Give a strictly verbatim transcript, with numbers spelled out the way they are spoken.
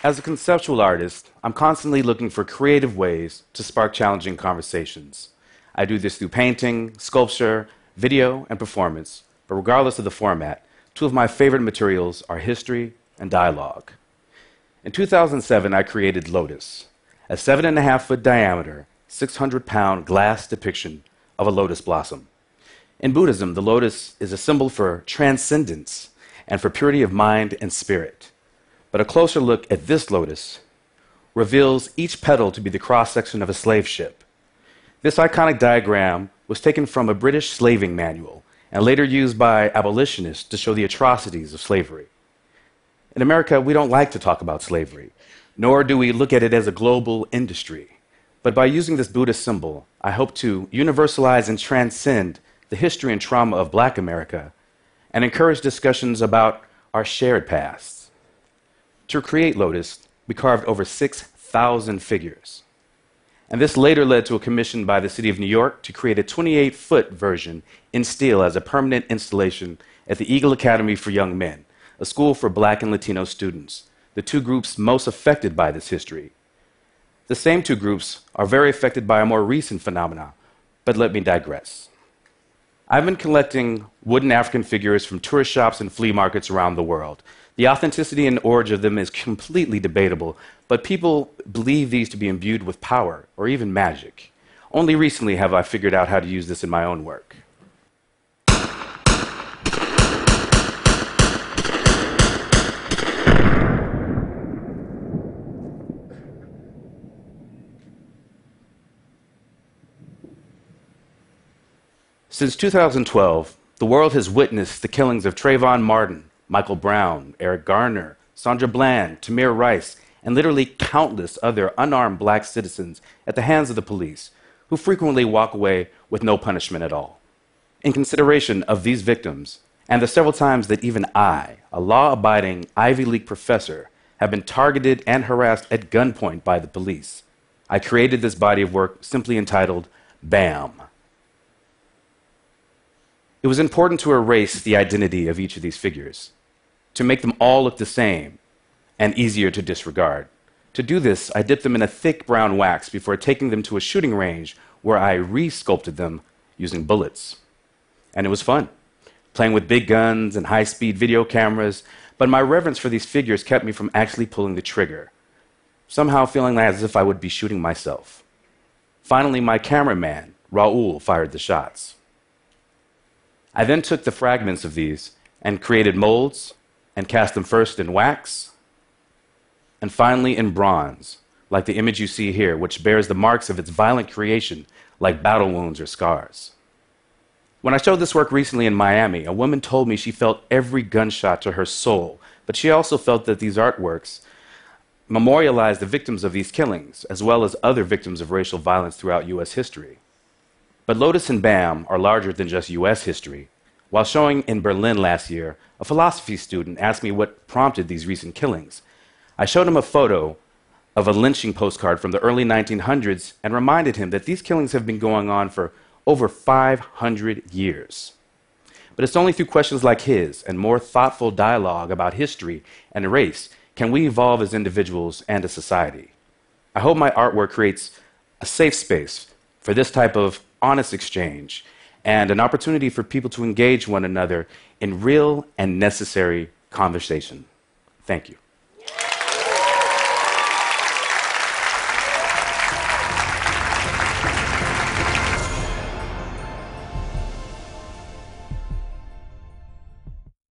As a conceptual artist, I'm constantly looking for creative ways to spark challenging conversations. I do this through painting, sculpture, video, and performance, but regardless of the format, two of my favorite materials are history and dialogue. In two thousand seven, I created Lotus, a seven and a half foot diameter, six hundred pound glass depiction of a lotus blossom. In Buddhism, the lotus is a symbol for transcendence and for purity of mind and spirit. But a closer look at this lotus reveals each petal to be the cross-section of a slave ship. This iconic diagram was taken from a British slaving manual and later used by abolitionists to show the atrocities of slavery. In America, we don't like to talk about slavery, nor do we look at it as a global industry. But by using this Buddhist symbol, I hope to universalize and transcend the history and trauma of Black America and encourage discussions about our shared past. To create Lotus, we carved over six thousand figures. And this later led to a commission by the City of New York to create a twenty-eight foot version in steel as a permanent installation at the Eagle Academy for Young Men, a school for Black and Latino students, the two groups most affected by this history. The same two groups are very affected by a more recent phenomenon, but let me digress. I've been collecting wooden African figures from tourist shops and flea markets around the world. The authenticity and origin of them is completely debatable, but people believe these to be imbued with power or even magic. Only recently have I figured out how to use this in my own work. Since two thousand twelve, the world has witnessed the killings of Trayvon Martin, Michael Brown, Eric Garner, Sandra Bland, Tamir Rice, and literally countless other unarmed Black citizens at the hands of the police, who frequently walk away with no punishment at all. In consideration of these victims, and the several times that even I, a law-abiding Ivy League professor, have been targeted and harassed at gunpoint by the police, I created this body of work simply entitled BAM. It was important to erase the identity of each of these figures, to make them all look the same and easier to disregard. To do this, I dipped them in a thick brown wax before taking them to a shooting range where I re-sculpted them using bullets. And it was fun, playing with big guns and high-speed video cameras, but my reverence for these figures kept me from actually pulling the trigger, somehow feeling as if I would be shooting myself. Finally, my cameraman, Raul, fired the shots. I then took the fragments of these and created molds and cast them first in wax and finally in bronze, like the image you see here, which bears the marks of its violent creation like battle wounds or scars. When I showed this work recently in Miami, a woman told me she felt every gunshot to her soul, but she also felt that these artworks memorialized the victims of these killings, as well as other victims of racial violence throughout U S history. But Lotus and BAM are larger than just U S history. While showing in Berlin last year, a philosophy student asked me what prompted these recent killings. I showed him a photo of a lynching postcard from the early nineteen hundreds and reminded him that these killings have been going on for over five hundred years. But it's only through questions like his and more thoughtful dialogue about history and race can we evolve as individuals and as society. I hope my artwork creates a safe space for this type of honest exchange and an opportunity for people to engage one another in real and necessary conversation. Thank you.